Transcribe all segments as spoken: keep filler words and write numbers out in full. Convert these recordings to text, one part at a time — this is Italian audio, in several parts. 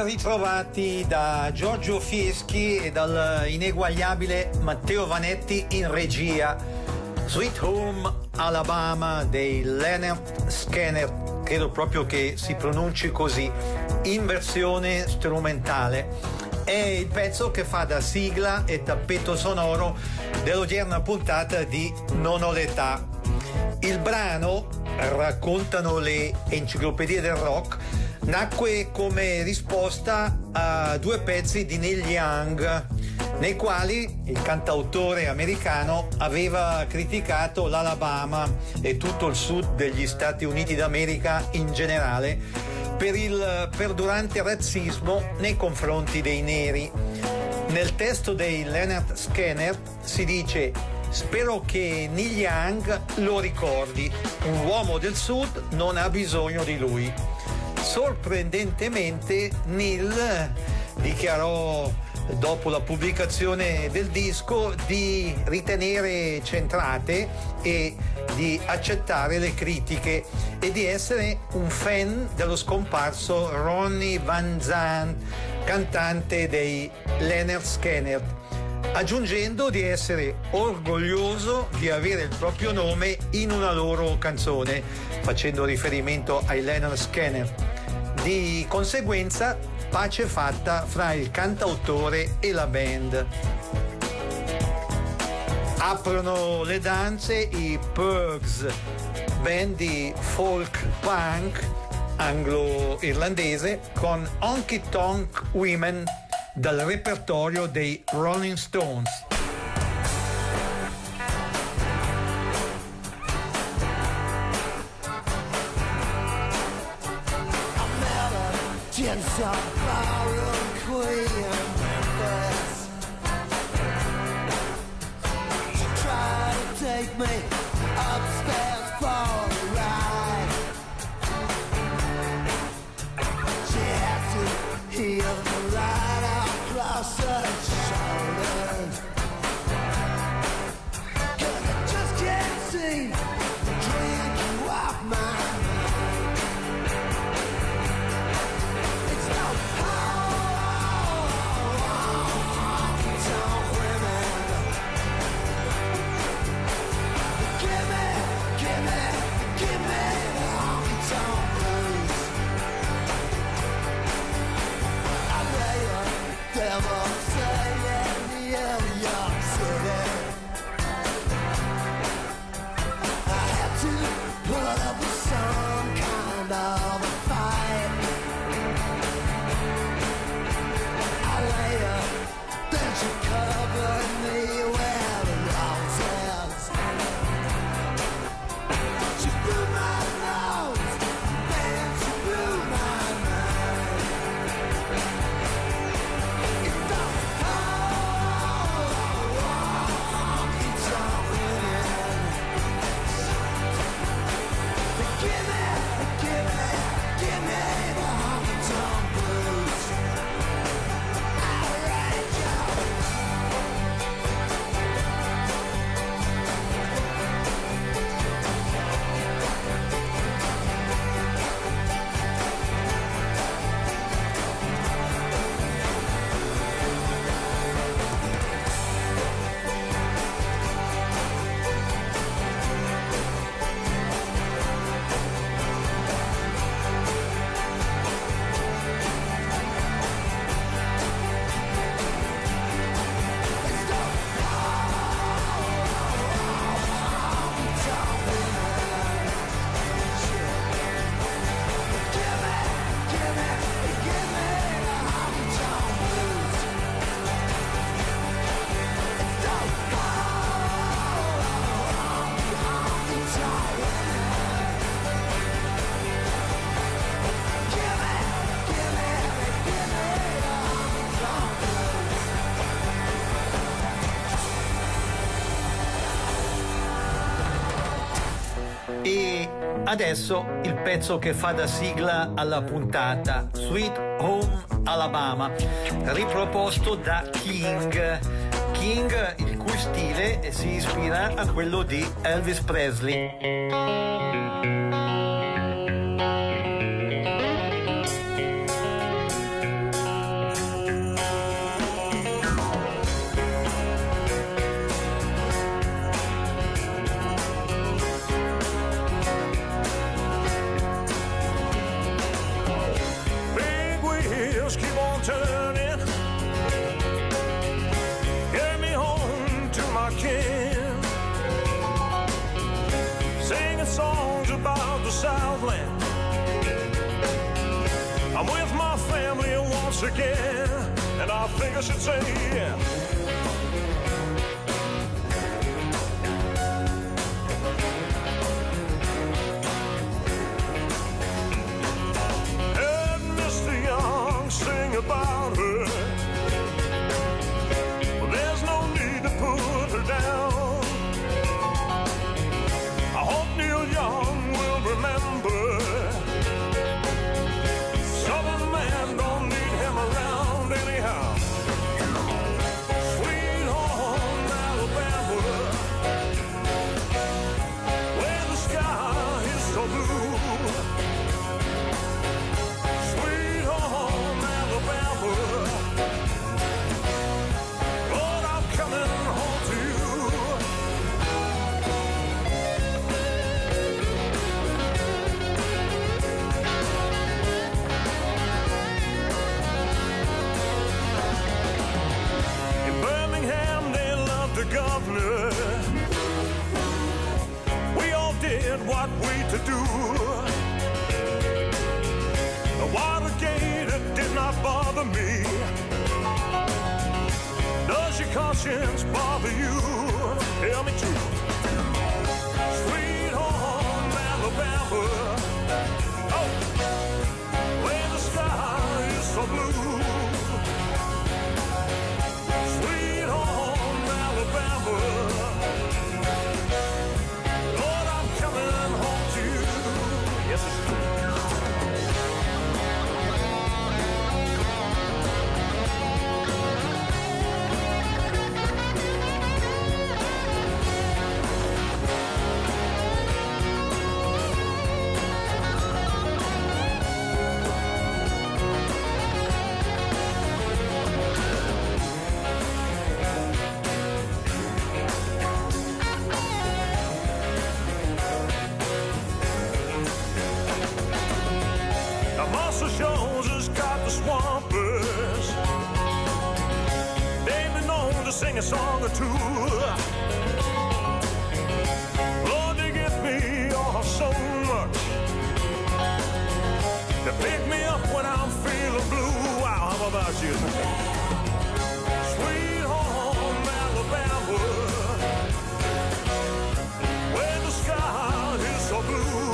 ritrovati da Giorgio Fieschi e dal ineguagliabile Matteo Vanetti in regia. Sweet Home Alabama dei Lynyrd Skynyrd, credo proprio che si pronunci così, in versione strumentale. È il pezzo che fa da sigla e tappeto sonoro dell'odierna puntata di Non ho l'età. Il brano, raccontano le enciclopedie del rock, nacque come risposta a due pezzi di Neil Young, nei quali il cantautore americano aveva criticato l'Alabama e tutto il sud degli Stati Uniti d'America in generale per il perdurante razzismo nei confronti dei neri. Nel testo dei Lynyrd Skynyrd si dice: spero che Neil Young lo ricordi, un uomo del sud non ha bisogno di lui. Sorprendentemente Neil dichiarò dopo la pubblicazione del disco di ritenere centrate e di accettare le critiche e di essere un fan dello scomparso Ronnie Van Zant, cantante dei Lynyrd Skynyrd, aggiungendo di essere orgoglioso di avere il proprio nome in una loro canzone, facendo riferimento ai Lynyrd Skynyrd. Di conseguenza, pace fatta fra il cantautore e la band. Aprono le danze i Pogues, band di folk punk anglo-irlandese, con Honky Tonk Women dal repertorio dei Rolling Stones. Some barroom queen in Memphis. She tried to take me upstairs for a ride. She had to heal the light across her shoulders. 'Cause I just can't see the drink you off my Adesso il pezzo che fa da sigla alla puntata, Sweet Home Alabama, riproposto da King. King, il cui stile si ispira a quello di Elvis Presley. on turning, get me home to my kin, singing songs about the Southland. I'm with my family once again, and I think I should say yeah. Sing about her. Well, there's no need to put her down. I hope Neil Young will remember, Southern man don't need him around anyhow. Sweet home Alabama, where the sky is so blue. The governor, we all did what we to do. The Watergate, it did not bother me. Does your conscience bother you? Tell me true. Sweet home Alabama, oh, where the sky is so blue. Sweet home Alabama, Lord, I'm coming home to you. Yes, it's true. Jones has got the Swampers. They've been known to sing a song or two. Lord, they give me oh, so much. They pick me up when I'm feeling blue. Wow, how about you? Sweet home Alabama, where the sky is so blue.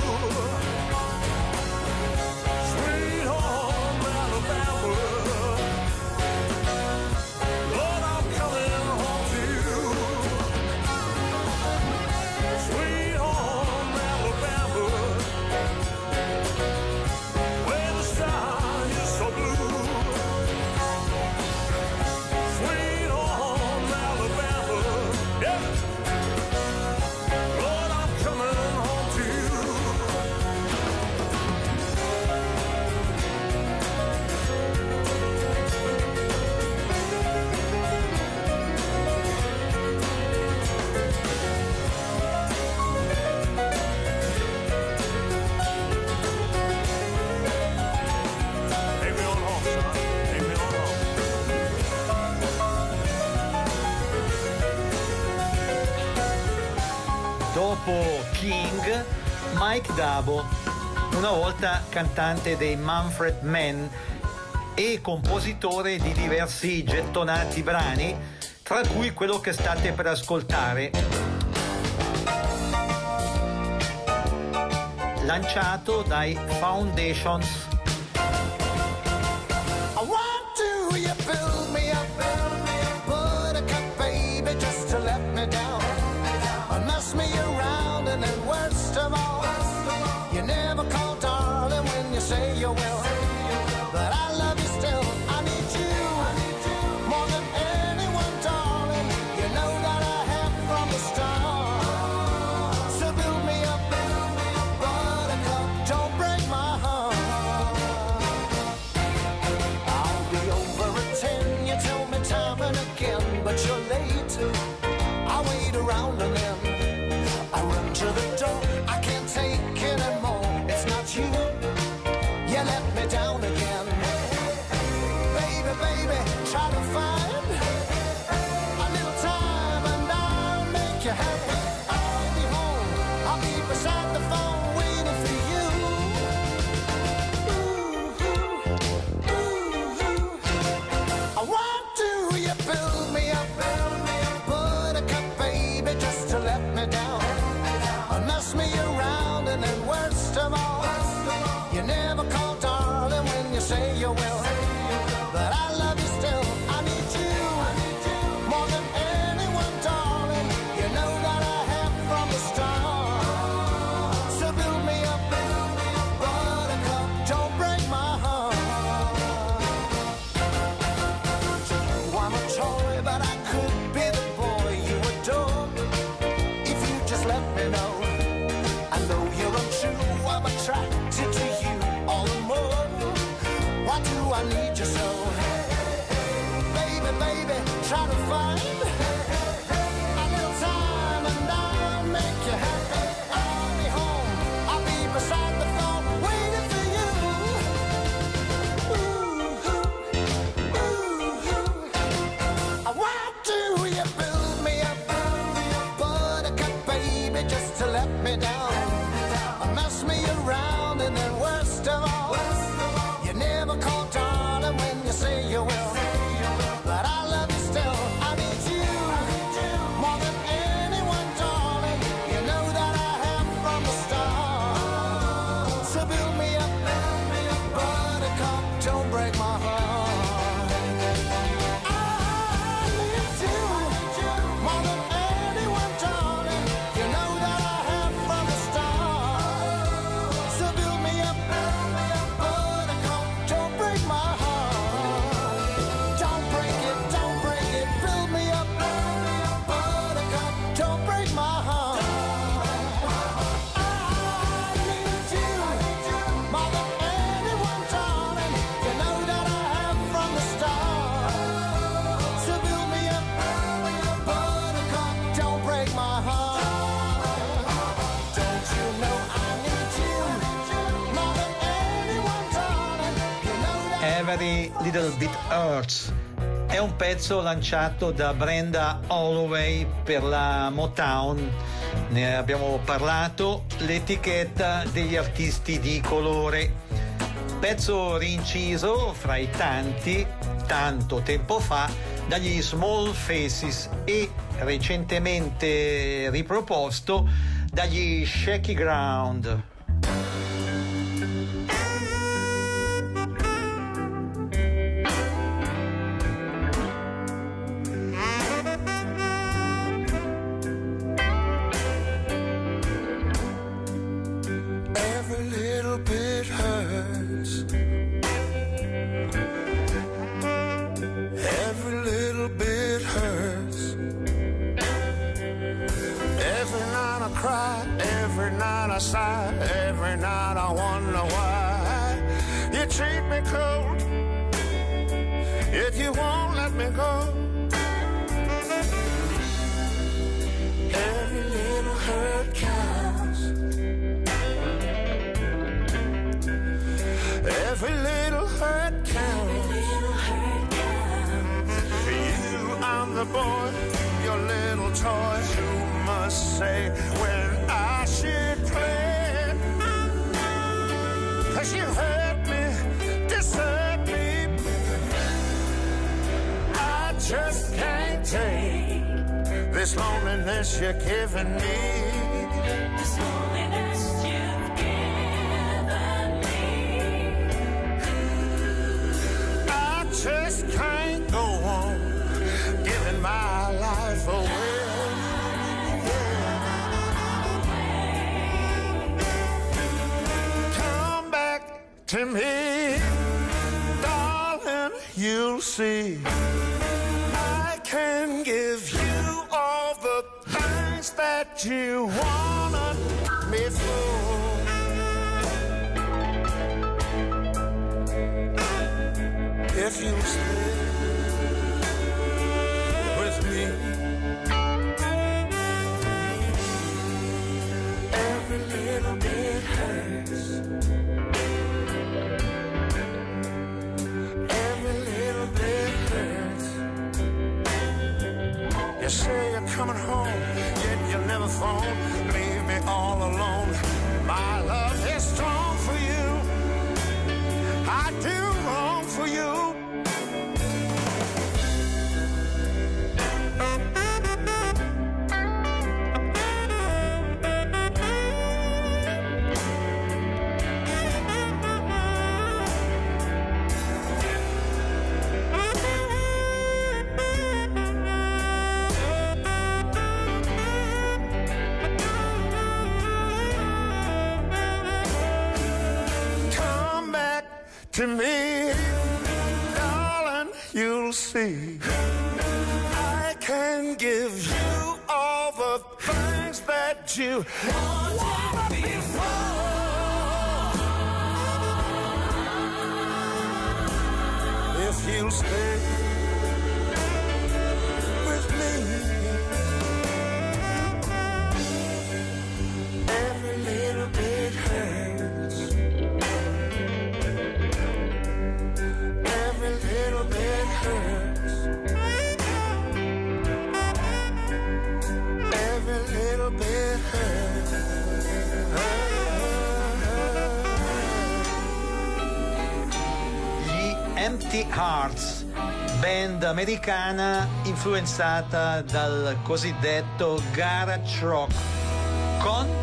Dopo King, Mike Dabo, una volta cantante dei Manfred Mann e compositore di diversi gettonati brani, tra cui quello che state per ascoltare, lanciato dai Foundations. I want to, you build me up, build me up, put a cup, baby, just to let me down. Mess me around, and then worst of all, you never call darling when you say you will. But I love you still, I need you more than anyone, darling. You know that I have from the start. So build me up, buttercup, don't break my heart. I'll be over at ten, you tell me time and again, but you're late. I wait around and then I run to the door. I can't take anymore. It's not you. You let me down again. Baby, why do I need you so? Baby, baby, try to find a little time and I'll make you happy. I'll be home, I'll be beside the phone, waiting for you. Ooh, ooh, ooh, ooh. Why do you build me up, buttercup baby, just to let me down? Mess me around and then worst of all, you never call darling when you say you will. But I love you still, I need you more than anyone, darling. You know that I have from the start. So build me up, buttercup, don't break my heart. I need you more than anyone, darling. You know that I have from the start. So build me up, buttercup, don't break my heart. Don't break it, don't break it, build me up, buttercup, don't break my heart. I need you more than anyone, darling. You know that I have from the start. So build me up, buttercup, don't break my heart. Don't you know I need you more than anyone, darling. You know that Every Little Bit Hurts è un pezzo lanciato da Brenda Holloway per la Motown. Ne abbiamo parlato, l'etichetta degli artisti di colore. Pezzo rinciso fra i tanti, tanto tempo fa, dagli Small Faces e recentemente riproposto dagli Shaky Ground. every little bit hurts. Every little bit hurts. Every night I cry, every night I sigh, every night I wonder why you treat me cold, yet you won't let me go. Every little hurt counts. Every little hurt counts. For you, I'm the boy, your little toy. Who must say when I should play? 'Cause you hurt me, desert me. I just can't take this loneliness you're giving me. This loneliness you've given me. I just can't go on giving my life away. Come back to me, darling, you'll see. I can give you all the things that you wanted me for. If you stay with me, every little bit hurts. Every little bit hurts. You say you're coming home, yet you never phone. Leave me all alone. My love is strong for you. I do wrong for you. Come back to me, darling, you'll see. I can give you all the things that you wanted before. stay with me. Every little bit hurts. Every little bit hurts. Every little bit hurts. Empty Hearts, band americana influenzata dal cosiddetto garage rock, con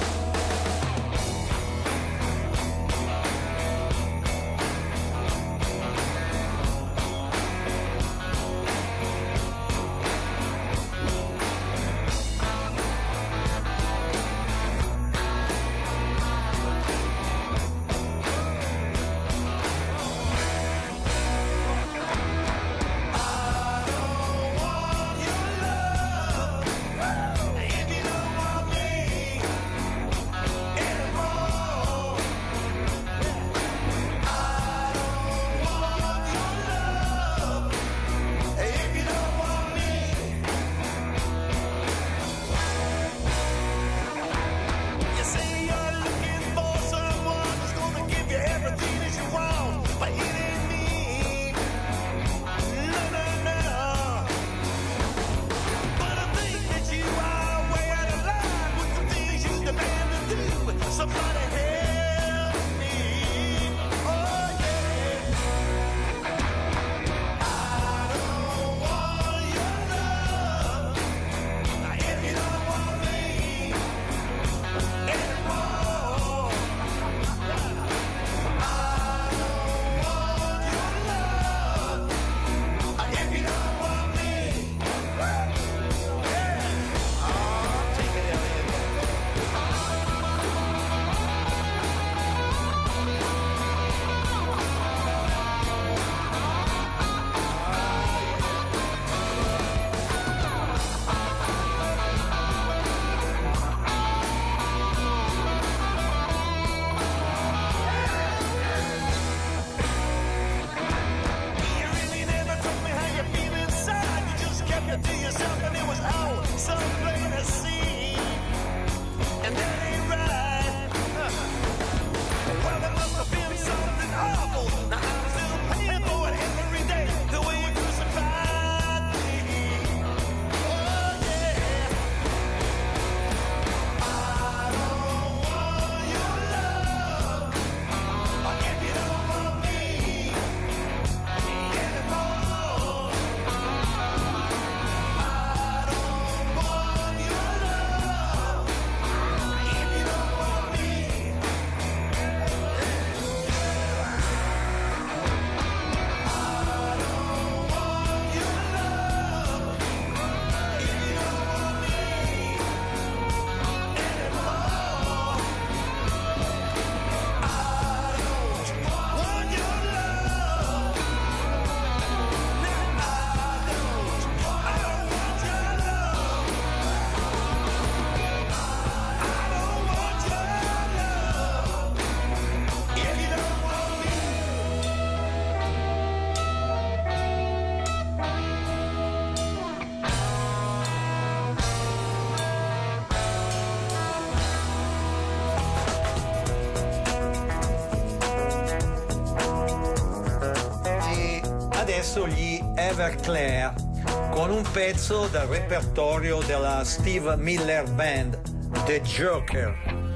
adesso gli Everclear con un pezzo dal repertorio della Steve Miller Band, The Joker.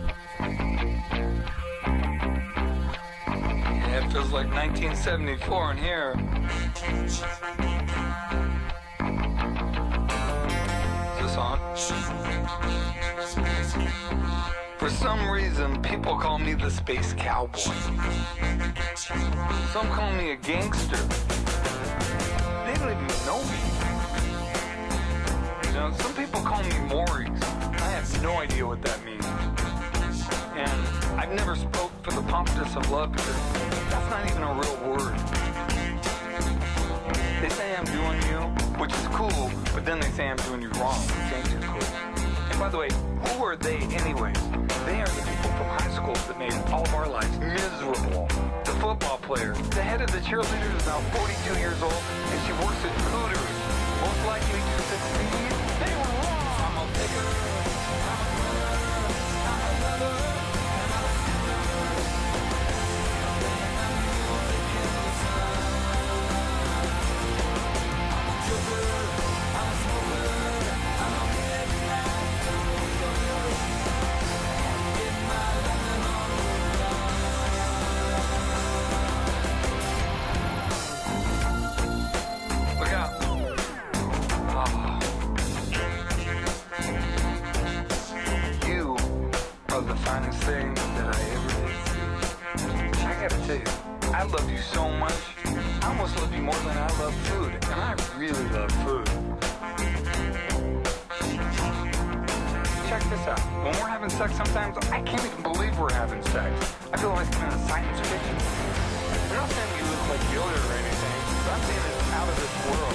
Yeah, it feels like nineteen seventy-four in here. Is this on? For some reason, people call me the Space Cowboy. Some call me a gangster. They don't even know me. You know, some people call me Maurice. I have no idea what that means. And I've never spoke for the pompous of love because that's not even a real word. They say I'm doing you, which is cool, but then they say I'm doing you wrong, which ain't too cool. And by the way, who are they anyways? They are the people from high school that made all of our lives miserable. The football player. The head of the cheerleaders is now forty-two years old, and she works at Hooters. Most likely to succeed. They were wrong. I'm a bigger. Look out. Oh. You are the finest thing that I ever did. I gotta tell you, I love you so much. I almost love you more than I love food, and I really love food. Check this out. When we're having sex sometimes, I can't even believe we're having sex. I feel like I'm in a science fiction. I'm not saying you look like Yoda or anything, but I'm saying it's out of this world.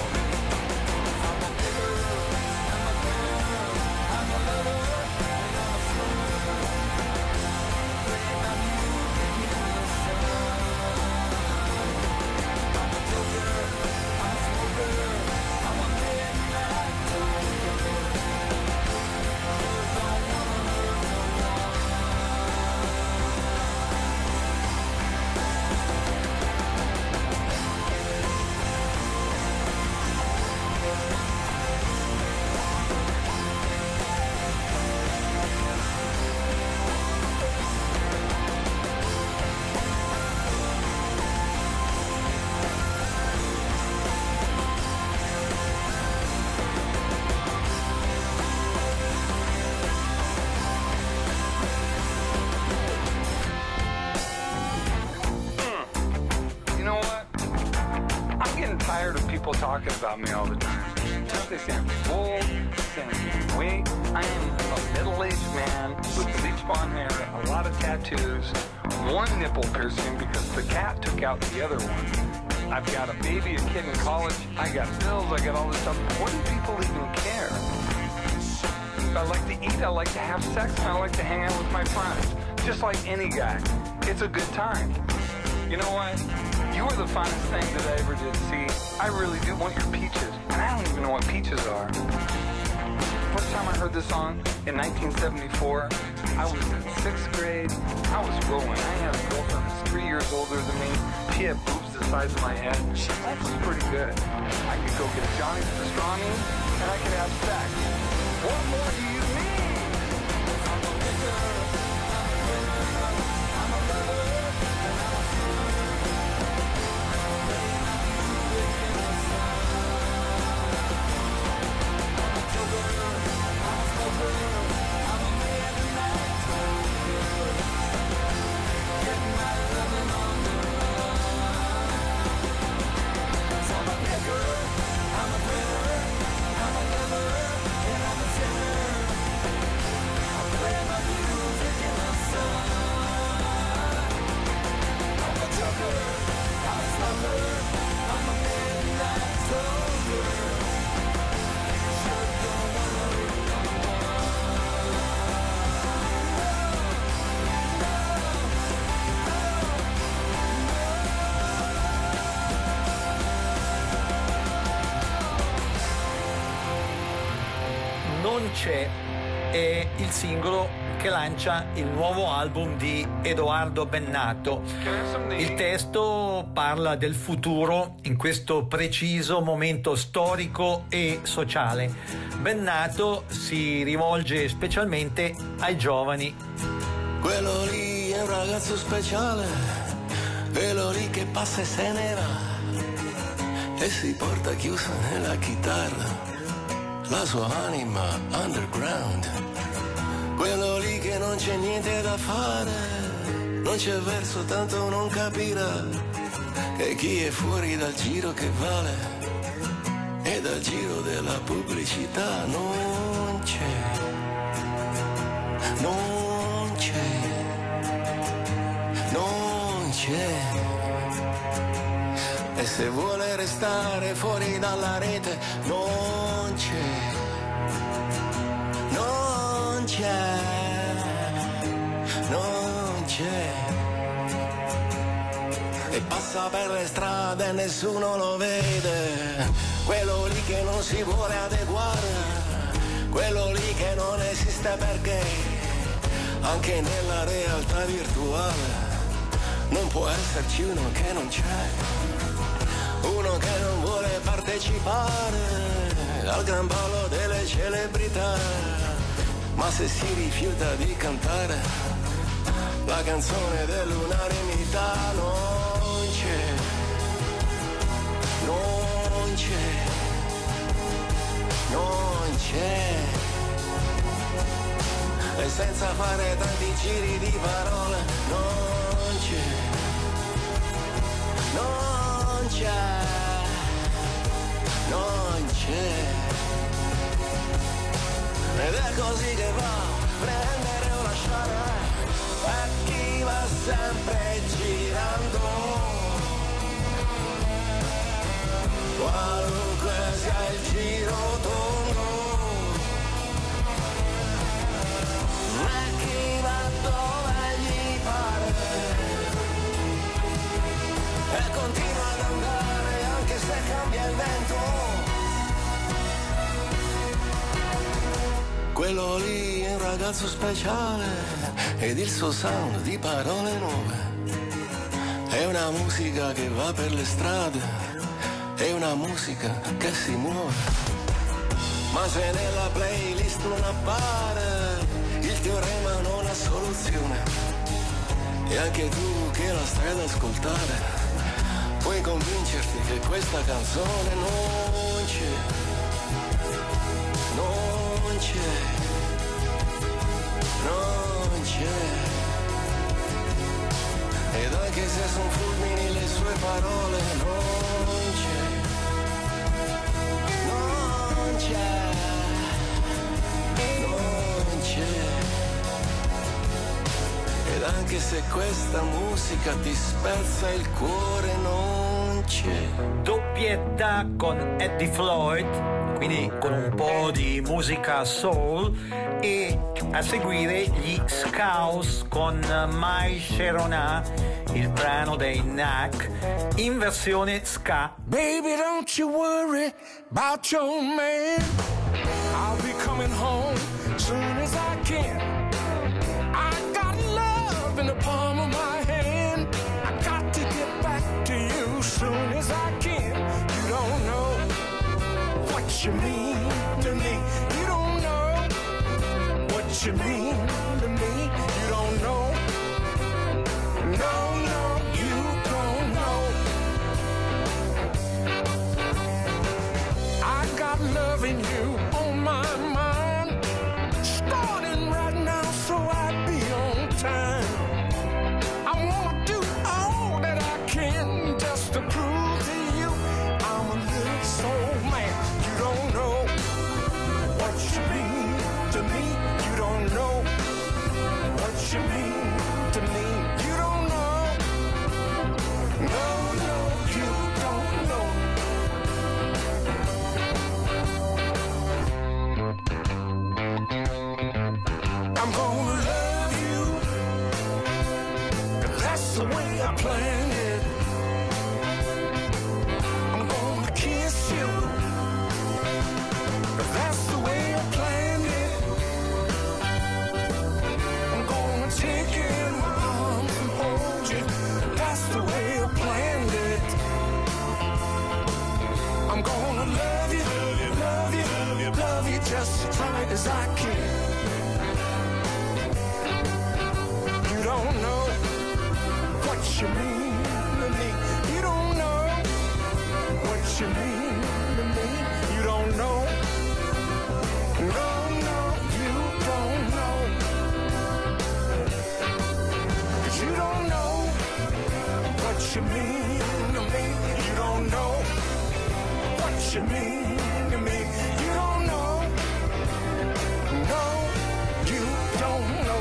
Tired of people talking about me all the time. They say I'm old, they say I'm weight. I am a middle-aged man with bleach blonde hair, a lot of tattoos, one nipple piercing because the cat took out the other one. I've got a baby, a kid in college, I got bills, I got all this stuff. What do people even care? I like to eat, I like to have sex, and I like to hang out with my friends. Just like any guy. It's a good time. You know what? You are the finest thing that I ever did see. I really do want your peaches, and I don't even know what peaches are. First time I heard this song in nineteen seventy-four, I was in sixth grade. I was rolling. I had a girlfriend who's three years older than me. She had boobs the size of my head. Life was pretty good. I could go get Johnny's pastrami, and I could have sex. What more do you need? I'm a bigger, I'm a lover, and I'm a Non c'è è il singolo che lancia il nuovo album di Edoardo Bennato. Il testo parla del futuro in questo preciso momento storico e sociale. Bennato si rivolge specialmente ai giovani. Quello lì è un ragazzo speciale, quello lì che passa e se ne va e si porta chiusa nella chitarra la sua anima underground. Quello lì che non c'è niente da fare, non c'è verso, tanto non capirà che chi è fuori dal giro che vale e dal giro della pubblicità non c'è, non c'è, non c'è. E se vuole restare fuori dalla rete non c'è, non c'è, non c'è. e passa per le strade e nessuno lo vede, quello lì che non si vuole adeguare, quello lì che non esiste perché anche nella realtà virtuale non può esserci uno che non c'è, uno che non vuole partecipare al gran ballo delle celebrità, ma se si rifiuta di cantare la canzone dell'unanimità non c'è, non c'è, non c'è. E senza fare tanti giri di parole non c'è, non c'è, non c'è. Ed è così che va, prendere o lasciare, per chi va sempre girando, qualunque sia il giro tondo. Ma chi va dove gli pare e continua ad andare anche se cambia il vento. Quello lì è un ragazzo speciale ed il suo sound di parole nuove. È una musica che va per le strade, è una musica che si muove. Ma se nella playlist non appare, il teorema non ha soluzione. E anche tu che la stai ad ascoltare, puoi convincerti che questa canzone non c'è, non c'è, non c'è. Ed anche se son fulmini le sue parole, non c'è, non c'è, non c'è. Ed anche se questa musica ti spezza il cuore, non c'è. Doppietta con Eddie Floyd, quindi con un po' di musica soul, e a seguire gli Scouse con My Sharona, il brano dei Knack in versione ska. Baby, don't you worry about your man. I'll be coming home soon as I can. I got love in the palm of my hand. I got to get back to you soon as I can. You don't know what you mean to me. You don't know what you mean to me. You don't know. No, no, you don't know. I got love in you on my mind, starting right now so I'd be on time. I wanna do all that I can just to prove to you I'm a little soul man. You don't know what you mean to me. You don't know what you mean to me. You don't know. No, no, you don't know. I'm gonna love you, 'cause that's the way I planned it. I'm gonna kiss you, 'cause that's the way I planned it. I'm gonna take you in my arms and hold you, that's the way I planned it. I'm gonna love you, love you, love you just as tight as I can. You don't know what you mean to me. You don't know what you mean to me. You don't know. No, no, you don't know. 'Cause you don't know what you mean to me. You don't know what you mean to me. You don't know. No, you don't know.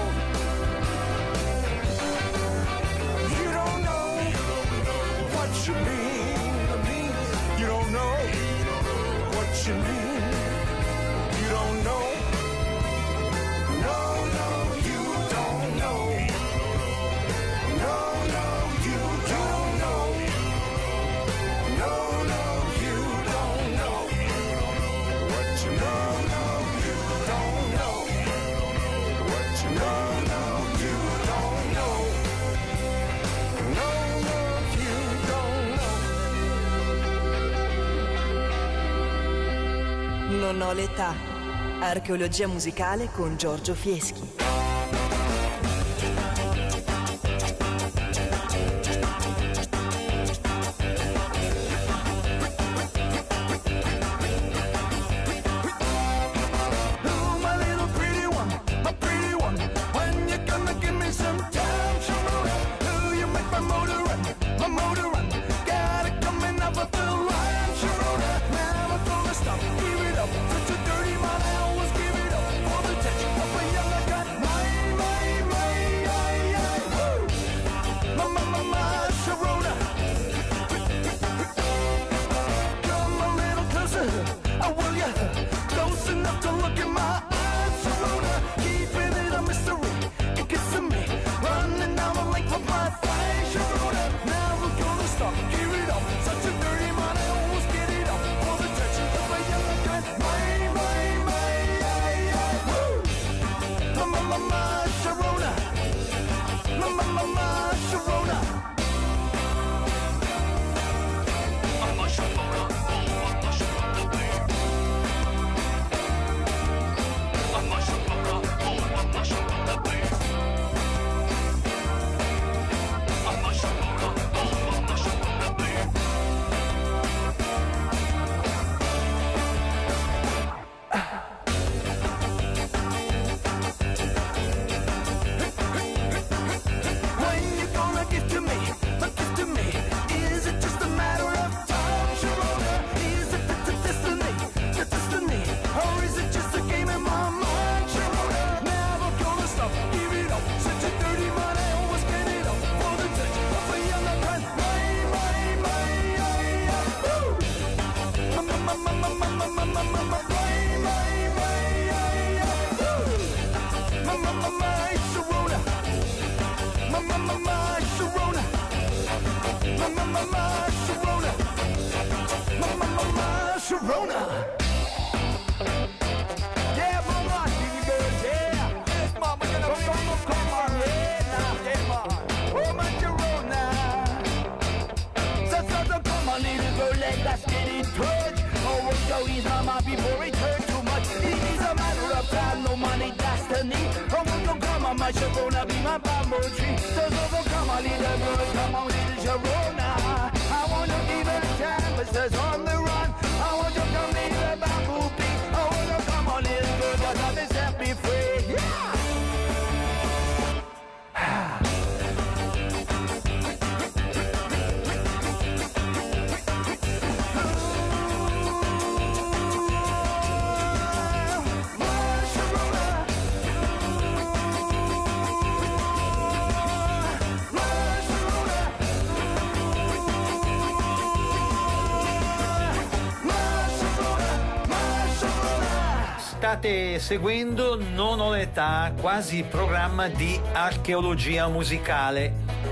You don't know what you mean to me. You don't know what you mean. You don't know. No, no, you don't know. No, no, you don't know. non ho l'età. Archeologia musicale con Giorgio Fieschi. State seguendo Non ho l'età, quasi programma di archeologia musicale,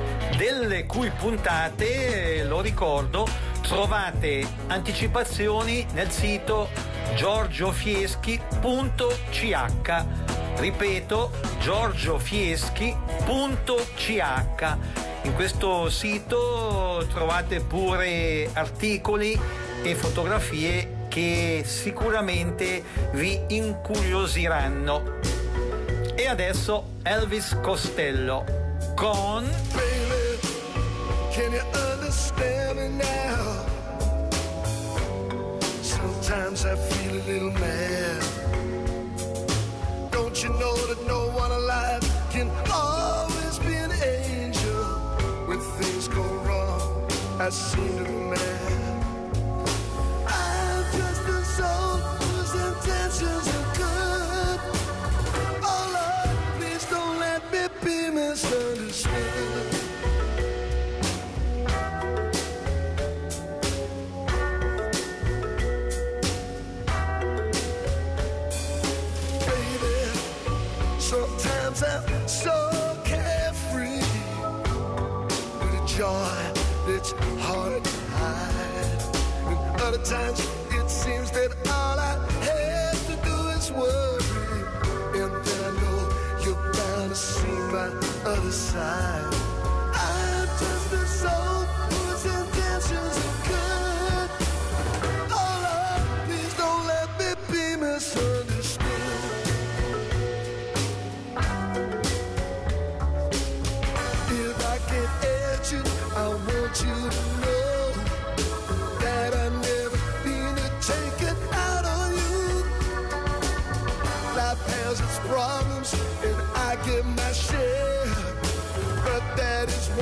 delle cui puntate, lo ricordo, trovate anticipazioni nel sito giorgiofieschi punto c h. Ripeto, giorgiofieschi punto c h. In questo sito trovate pure articoli e fotografie che sicuramente vi incuriosiranno. E adesso Elvis Costello con Baby, can you understand me now? Sometimes I feel a little mad. Don't you know that no one alive can always be an angel? When things go wrong, I seem to be mad. Soul whose intentions are good. Oh Lord, please don't let me be misunderstood. Baby, sometimes I'm so carefree with a joy that's hard to hide. And other times it seems that all I have to do is worry, and then I know you're bound to see my other side. I'm just a soul whose intentions are good. Oh Lord, please don't let me be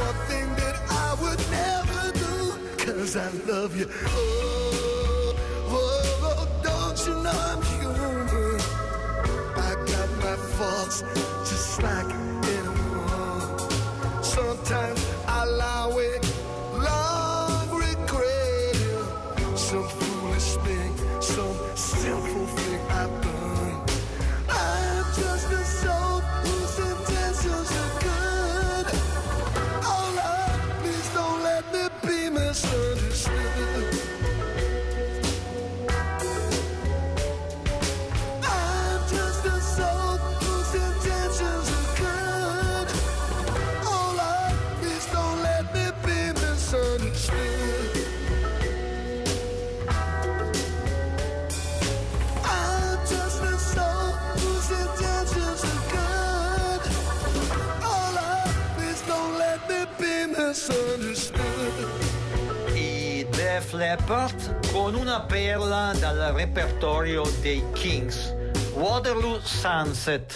one thing that I would never do, 'cause I love you. Oh, oh, oh, don't you know I'm human? I got my faults just like anyone. Sometimes I lie awake, long regret some foolish thing, some sinful thing I've done. I'm just a soul whose intentions are good. Oh Lord, please don't let me be misunderstood. I'm just a soul whose intentions are good. Oh Lord, please don't let me be misunderstood. I'm just a soul whose intentions are good. Oh Lord, please don't let me be misunderstood. I Def Leppard con una perla dal repertorio dei Kings, Waterloo Sunset.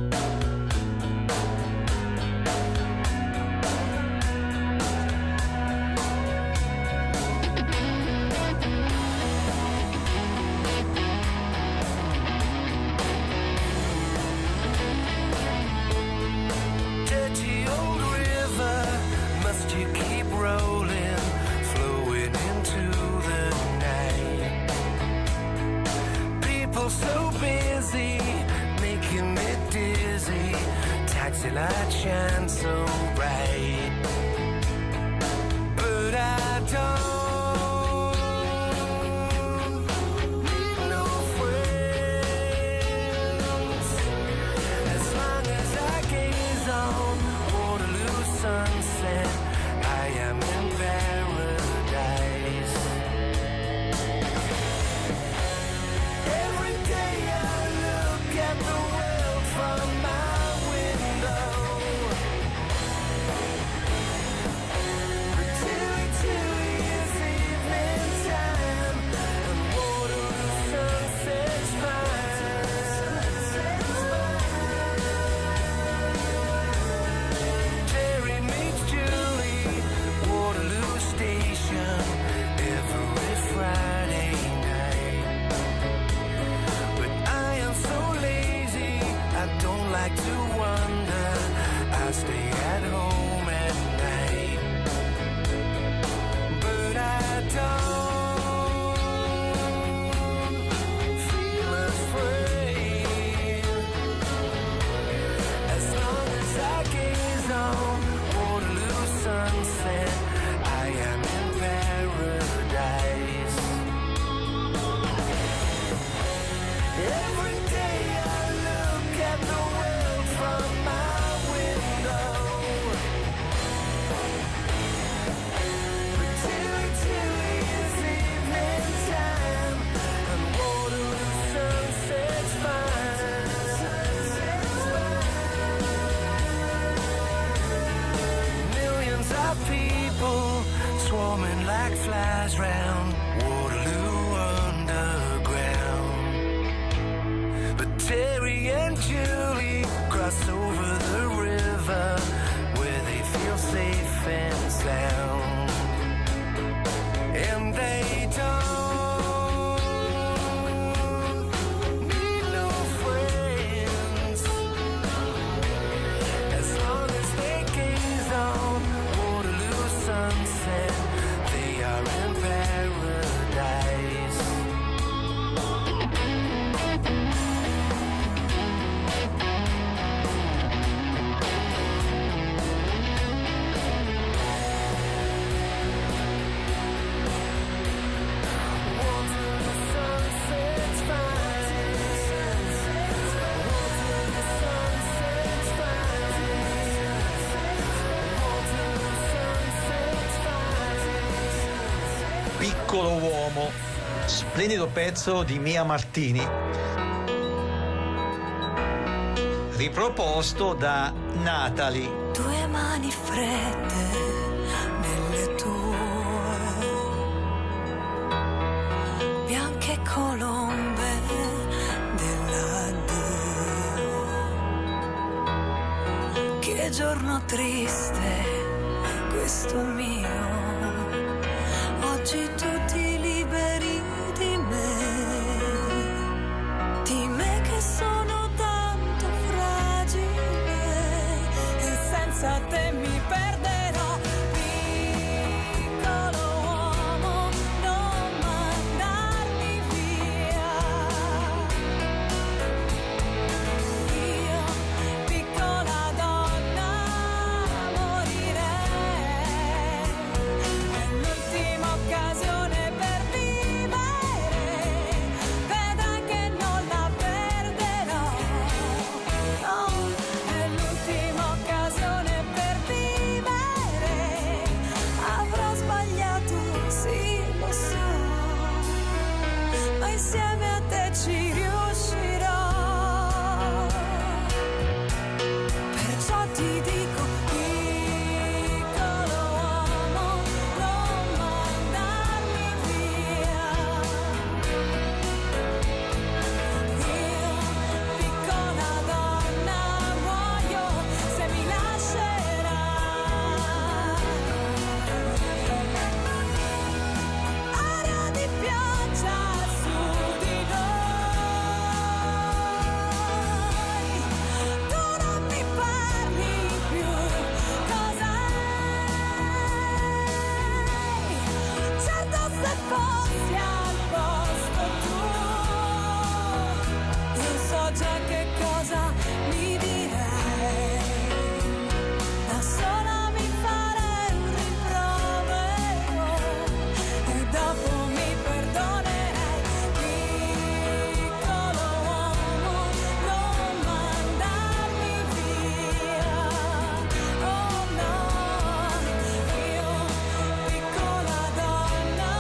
Dirty old river, must you keep rolling, flowing into the night? People so busy, making me dizzy, taxi light shine so bright, but I don't need no friends. As long as I gaze on Waterloo sunset, I am in paradise. Every day I look at the world from my window. Chilly, chilly is evening time, and Waterloo sunset's fine. Jerry meets Julie, Waterloo Station, every Friday night. But I am so lazy, I don't like to wander, I stay at home at night. But I don't feel afraid. As long as I gaze on Waterloo sunset, I am in paradise. Every day I look at the world from my window. But chilly, chilly is evening time, and Waterloo sunset's fine. Millions of people swarming like flies round Waterloo underground. But Terry and Julie cross over the river where they feel safe and sound. And they don't need no friends. As long as they gaze on Waterloo sunset, they are in paradise. Waterloo sunset's fine. Waterloo sunset's fine. Waterloo sunset's fine. Piccolo uomo, splendido pezzo di Mia Martini, riproposto da Natalie. Tue mani fredde nelle tue, bianche colombe dell'addio. Che giorno triste questo è mio. Oggi tutti liberi di me, di me che sono tanto fragile e senza te mi perderò. Piccolo uomo, non mandarmi via. Io, piccola donna, morirei. È l'ultima occasione per vivere, vedrai che non la perderò. No, è l'ultima occasione per vivere. Avrò sbagliato, sì, lo so, ma insieme a te ci riuscirò. Perciò ti dico, piccolo uomo, non mandarmi via. Io, piccola donna, muoio se mi lascerai. Aria di pioggia su di noi, tu non mi parli più, cos'hai? Certo, se fossi al posto tuo, io so già che cosa mi direi. Da sola mi farei un rimprovero e dopo mi perdonerei. Piccolo uomo, non mandarmi via. Oh no, io, piccola donna,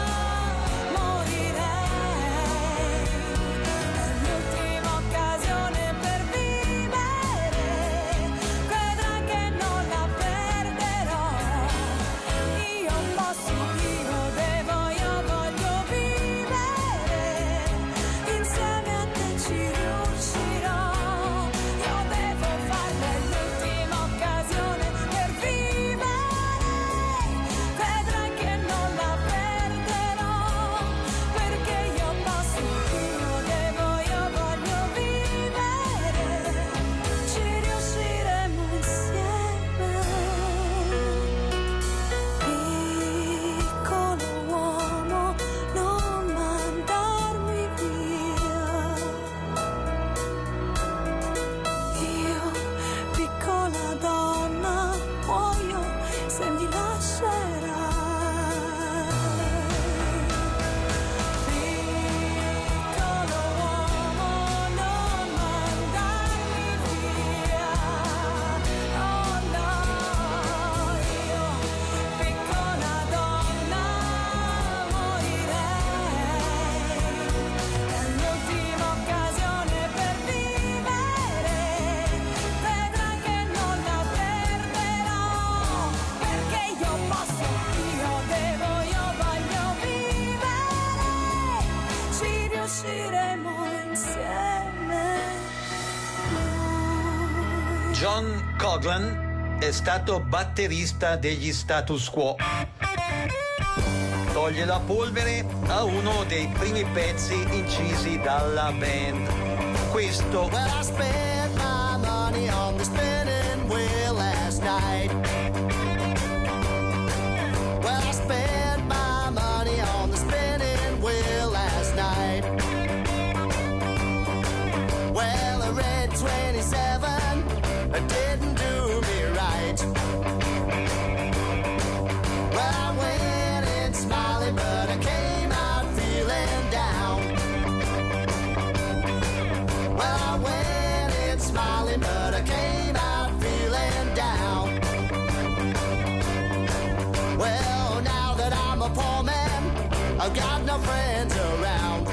morirei. È l'ultima occasione per vivere, vedrai che non la perderò. Io posso, io devo, io voglio vivere, insieme a te ci riuscirò. Io devo farla, è l'ultima occasione per vivere, vedrai che non la perderò, perché io posso, io devo, io voglio vivere, ci riusciremo insieme. Piccolo uomo, non mandarmi via. Io, piccola donna, muoio se mi lascerai. Piccolo uomo, non mandarmi via. Oh no, io, piccola donna, morirei. È l'ultima occasione per vivere, vedrai che non la perderò, perché io posso, io devo, io voglio vivere, ci riusciremo insieme. John Coughlan è stato batterista degli Status Quo. Toglie la polvere a uno dei primi pezzi incisi dalla band. Questo Well, I spent my money on the spinning wheel last night. Well, I spent my money on the spinning wheel last night. Well, I read twenty-seven, it didn't do me right. Well, I went in smiling, but I came out feeling down. Well, I went in smiling, but I came out feeling down. Well, now that I'm a poor man, I've got no friends around.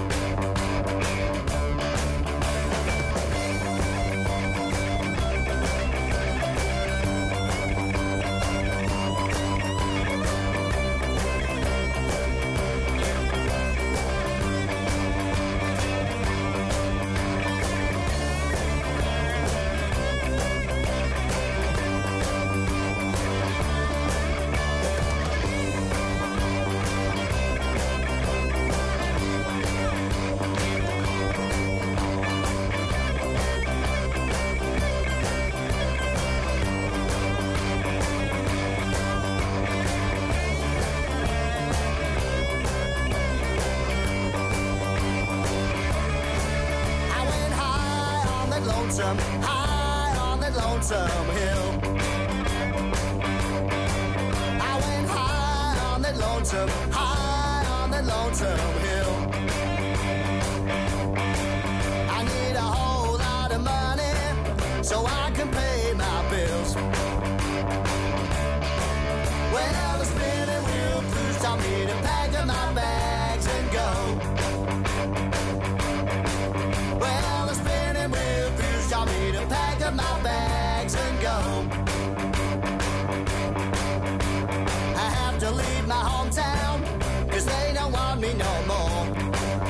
lonesome, high on that lonesome hill. I went high on that lonesome, high on that lonesome hill. I need a whole lot of money so I can pay my bills. Well, the spinning wheel crews taught me to pack up my bags and go. Well, the spinning wheel crews taught me to pack up my bags and go. I have to leave my hometown, 'cause they don't want me no more.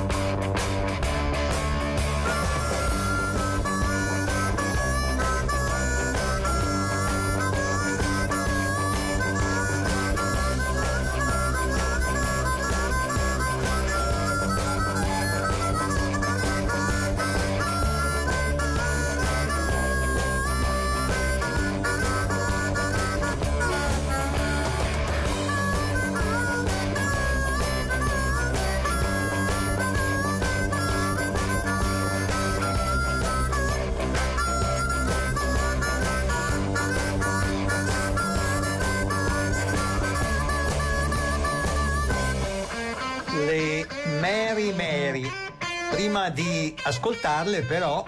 Le Mary Mary. Prima di ascoltarle però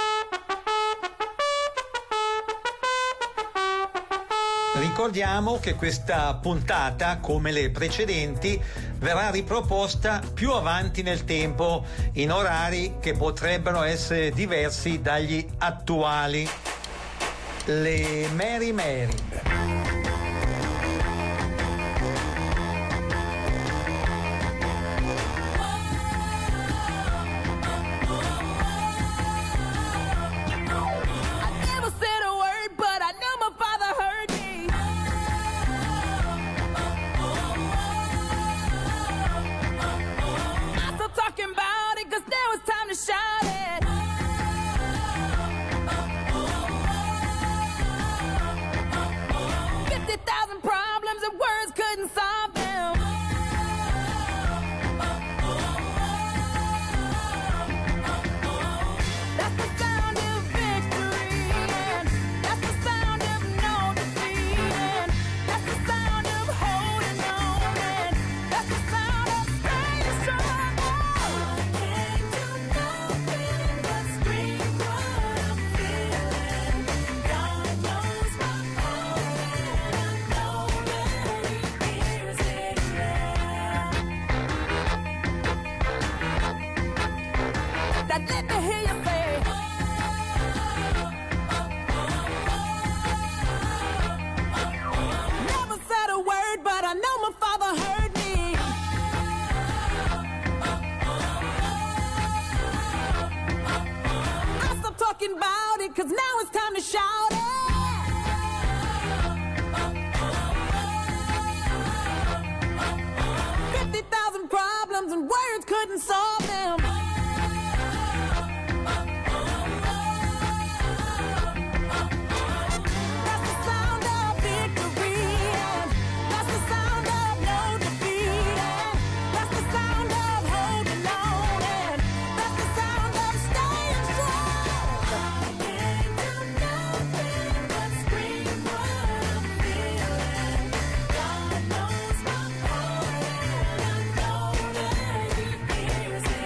ricordiamo che questa puntata, come le precedenti, verrà riproposta più avanti nel tempo in orari che potrebbero essere diversi dagli attuali. Le Mary Mary. Here's it.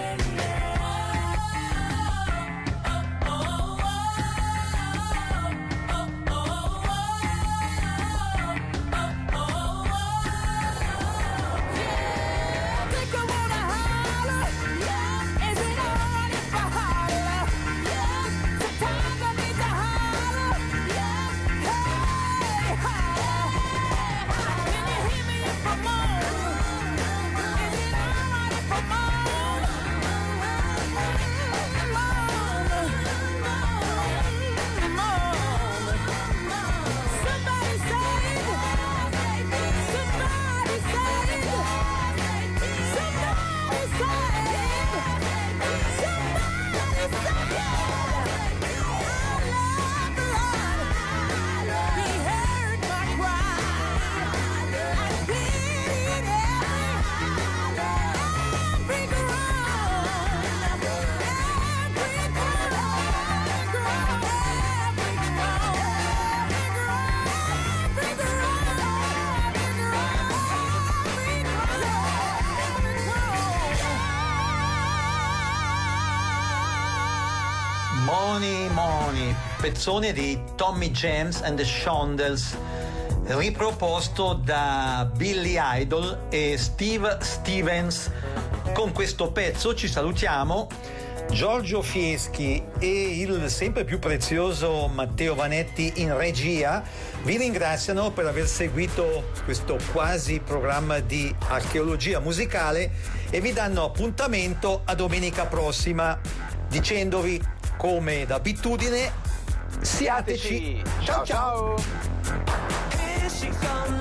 Money Money, pezzone di Tommy James and the Shondells, riproposto da Billy Idol e Steve Stevens. Con questo pezzo ci salutiamo. Giorgio Fieschi e il sempre più prezioso Matteo Vanetti in regia vi ringraziano per aver seguito questo quasi programma di archeologia musicale e vi danno appuntamento a domenica prossima, dicendovi, come d'abitudine, siateci. Ciao ciao. Here she comes.